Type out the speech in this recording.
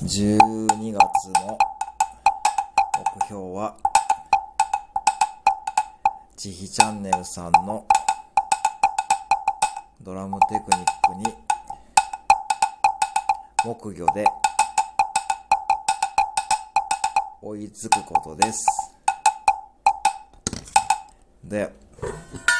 12月の目標は、ちひチャンネルさんのドラムテクニックに木魚で追いつくことです。で